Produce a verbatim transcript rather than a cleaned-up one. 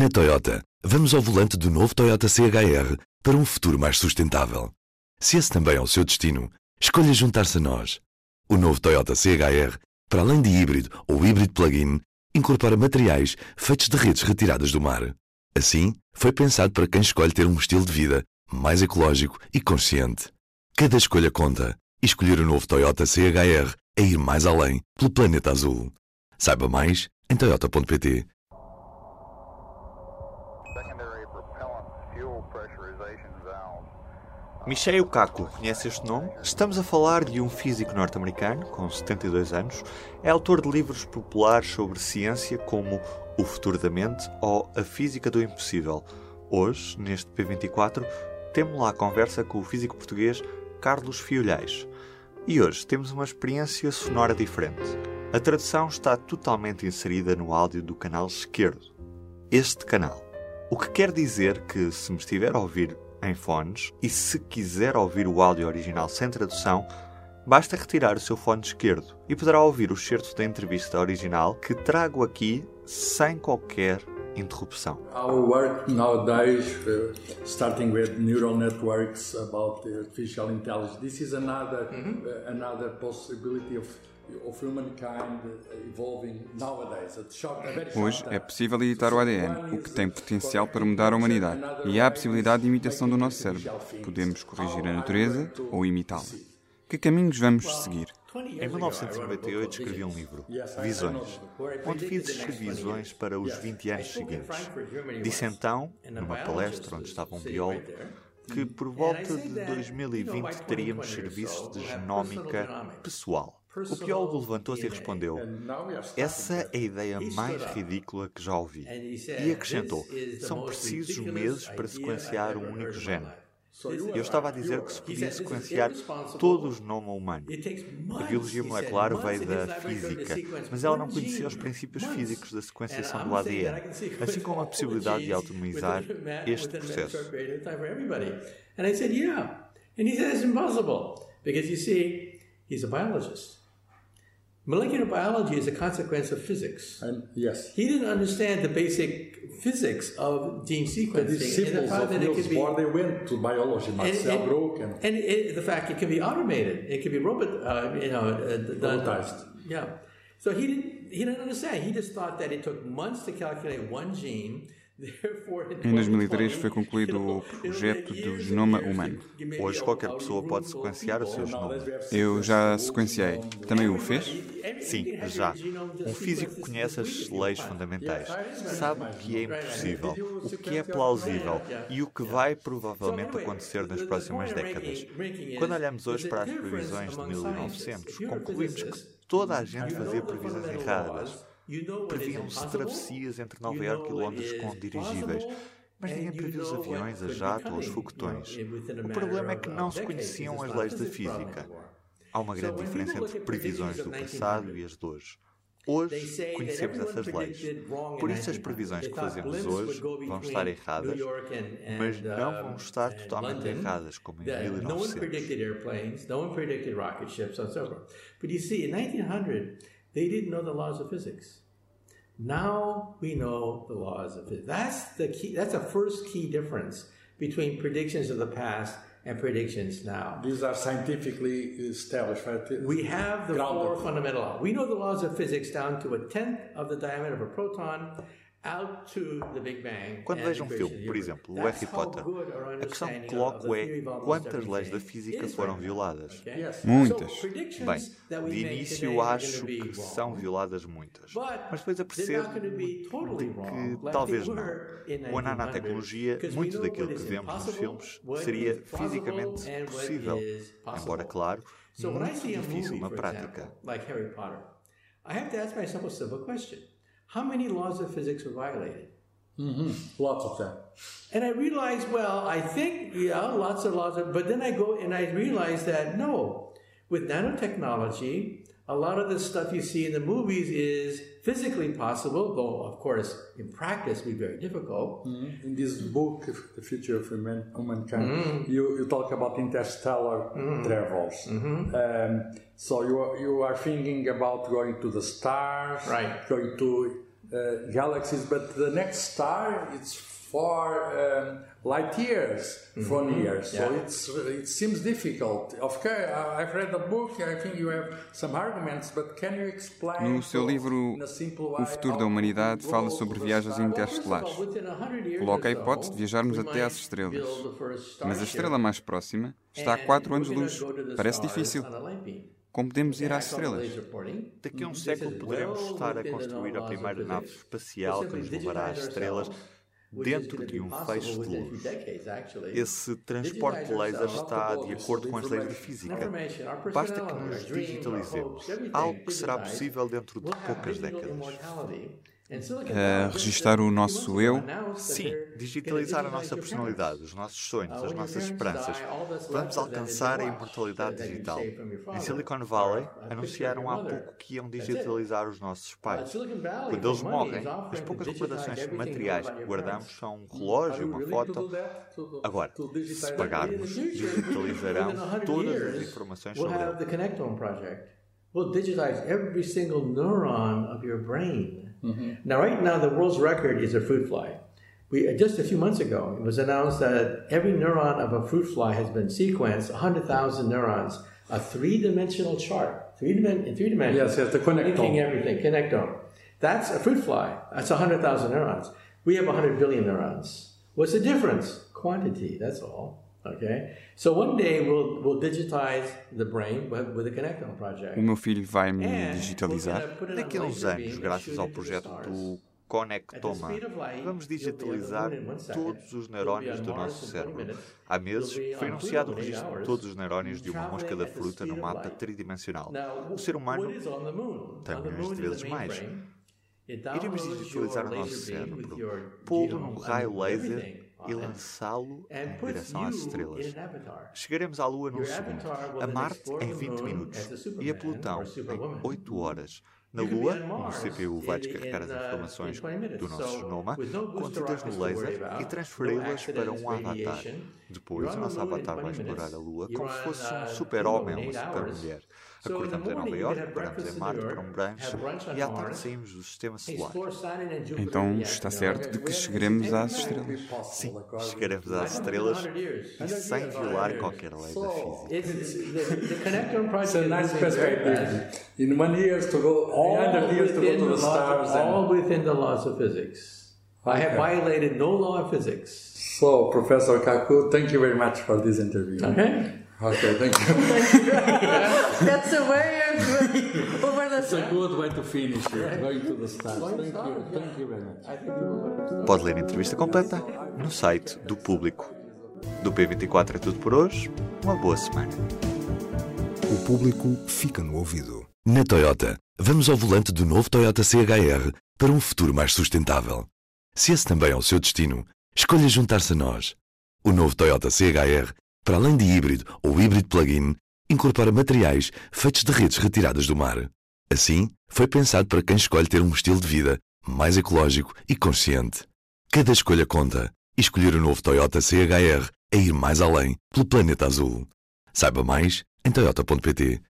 Na Toyota, vamos ao volante do novo Toyota C H R para um futuro mais sustentável. Se esse também é o seu destino, escolha juntar-se a nós. O novo Toyota C H R, para além de híbrido ou híbrido plug-in, incorpora materiais feitos de redes retiradas do mar. Assim, foi pensado para quem escolhe ter um estilo de vida mais ecológico e consciente. Cada escolha conta, e escolher o novo Toyota C H R é ir mais além pelo planeta azul. Saiba mais em toyota ponto pt. Michio Kaku, conhece este nome? Estamos a falar de um físico norte-americano, com setenta e dois anos, é autor de livros populares sobre ciência como O Futuro da Mente ou A Física do Impossível. Hoje, neste P vinte e quatro, temos lá a conversa com o físico português Carlos Fiolhais. E hoje temos uma experiência sonora diferente. A tradução está totalmente inserida no áudio do canal esquerdo. Este canal. O que quer dizer que, se me estiver a ouvir em fones, e se quiser ouvir o áudio original sem tradução, basta retirar o seu fone esquerdo e poderá ouvir o excerto da entrevista original que trago aqui sem qualquer interrupção. Our work nowadays, uh, starting with neural networks about the artificial intelligence, this is another mm-hmm. uh, another possibility of of humankind evolving nowadays. Hoje é possível editar o A D N, o que tem potencial para mudar a humanidade. E há a possibilidade de imitação do nosso cérebro. Podemos corrigir a natureza ou imitá-la. Que caminhos vamos seguir? Em mil novecentos e noventa e oito escrevi um livro, Visões, onde fiz as visões para os vinte anos seguintes. Disse então, numa palestra onde estava um biólogo, que por volta de dois mil e vinte teríamos serviços de genómica pessoal. O biólogo levantou-se e respondeu: essa é a ideia mais ridícula que já ouvi. E acrescentou: são precisos meses para sequenciar um único gene. Eu estava a dizer que se podia sequenciar todo o genoma humano. A biologia molecular veio da física, mas ela não conhecia os princípios físicos da sequenciação do A D N, assim como a possibilidade de autonomizar este processo. And I said, yeah. And he said, it's impossible, because you see, he's a biologist. Molecular biology is a consequence of physics. And yes. He didn't understand the basic physics of gene sequencing. The disciples of Niels Bohr, they went to biology, Marcel Broek. And, and it, the fact it can be automated. It can be robot, uh, you know, uh, done. Robotized. Yeah. So he didn't, he didn't understand. He just thought that it took months to calculate one gene. Em dois mil e três foi concluído o projeto do genoma humano. Hoje qualquer pessoa pode sequenciar o seu genoma. Eu já sequenciei. Também o fez? Sim, já. Um físico que conhece as leis fundamentais. Sabe o que é impossível, o que é plausível e o que vai provavelmente acontecer nas próximas décadas. Quando olhamos hoje para as previsões de mil e novecentos, concluímos que toda a gente fazia previsões erradas. Previam-se travessias entre Nova Iorque e Londres com dirigíveis, mas ninguém previu os aviões, a jato ou os foguetões. O problema é que não se conheciam as leis da física. Há uma grande diferença entre previsões do passado e as de hoje. Hoje conhecemos essas leis. Por isso as previsões que fazemos hoje vão estar erradas, mas não vão estar totalmente erradas, como em mil e novecentos. They didn't know the laws of physics. Now we know the laws of physics. That's the key. That's the first key difference between predictions of the past and predictions now. These are scientifically established, right? We have the Grounded. four fundamental laws. We know the laws of physics down to a tenth of the diameter of a proton. Quando vejo um filme, por exemplo, o Harry Potter, a questão que coloco é quantas leis da física foram violadas? Muitas. Bem, de início acho que são violadas muitas, mas depois apercebo de que talvez não. Com a nanotecnologia, muito daquilo que vemos nos filmes seria fisicamente possível, embora, claro, muito difícil na prática. How many laws of physics were violated? Mm-hmm. Lots of them. And I realized, well, I think, yeah, lots of laws, of, but then I go and I realized that no, with nanotechnology, a lot of the stuff you see in the movies is physically possible, though, of course, in practice, would be very difficult. Mm-hmm. In this book, The Future of Humankind, mm-hmm. you, you talk about interstellar mm-hmm. travels. Mm-hmm. Um, so you are, you are thinking about going to the stars, right. going to uh, galaxies, but the next star it's four um, light years from Mm-hmm. here, so Yeah. it's it seems difficult. Of course, I- I've read the book. I think you have some arguments, but can you explain? No seu to- livro in a simple O way Futuro how da Humanidade to fala grow sobre the viagens star? interestelares. Coloca a hipótese de viajarmos até às estrelas. Mas a estrela mais próxima está a quatro anos-luz. Parece difícil. Como podemos ir às estrelas? Daqui a um século poderemos estar a construir a primeira nave espacial que nos levará às estrelas dentro de um feixe de luz. Esse transporte de lasers está de acordo com as leis da física. Basta que nos digitalizemos, algo que será possível dentro de poucas décadas. Uh, registar o nosso eu? Sim, digitalizar a nossa personalidade, os nossos sonhos, as nossas esperanças. Vamos alcançar a imortalidade digital. Em Silicon Valley, anunciaram há pouco que iam digitalizar os nossos pais. Quando eles morrem, as poucas recordações materiais que guardamos são um relógio, uma foto. Agora, se pagarmos, digitalizarão todas as informações sobre ele. We'll digitize every single neuron of your brain. Mm-hmm. Now, right now, the world's record is a fruit fly. We, just a few months ago, it was announced that every neuron of a fruit fly has been sequenced, one hundred thousand neurons, a three-dimensional chart, three dimen- in three dimensions. Yes, yes, the connectome. Linking everything, connectome. That's a fruit fly. That's one hundred thousand neurons. We have one hundred billion neurons. What's the difference? Quantity, that's all. Okay? So one day we'll, we'll digitize the brain with, with the Connectome project. O meu filho vai me digitalizar. Daqui a uns anos, graças ao projeto do Connectoma, vamos digitalizar todos os neurónios do nosso cérebro. Há meses foi anunciado o registro de todos os neurónios de uma mosca da fruta no mapa tridimensional. O ser humano tem milhões de vezes mais. Iremos digitalizar o nosso cérebro, pô-lo num raio laser e lançá-lo em direção às estrelas. Chegaremos à Lua num segundo, a Marte em vinte minutos e a Plutão em oito horas. Na Lua, um C P U vai descarregar as informações do nosso genoma contidas no laser e transferi-las para um avatar. Depois, o nosso avatar vai explorar a Lua como se fosse um super-homem ou uma super-mulher. Acordamos em Nova Iorque, paramos em Marte para um brunch e à tarde saímos do Sistema Solar. Então está certo de que chegaremos às estrelas. Sim, chegaremos às estrelas e sem violar qualquer lei da física. It's a nice perspective. In one year to go, one hundred years to go to the stars. All within the laws of physics. I have violated no law of physics. So, Professor Kaku, thank you very much for this interview. Okay. Okay, thank you. That's a way of over the It's a good way to finish it, going to the stars. Thank you, thank you very much. Pode ler a entrevista completa no site do Público. Do P vinte e quatro é tudo por hoje. Uma boa semana. O Público fica no ouvido. Na Toyota, vamos ao volante do novo Toyota C H R para um futuro mais sustentável. Se esse também é o seu destino, escolha juntar-se a nós. O novo Toyota C H R, para além de híbrido ou híbrido plug-in, incorpora materiais feitos de redes retiradas do mar. Assim, foi pensado para quem escolhe ter um estilo de vida mais ecológico e consciente. Cada escolha conta, e escolher o novo Toyota C H R é ir mais além pelo planeta azul. Saiba mais em toyota ponto pt.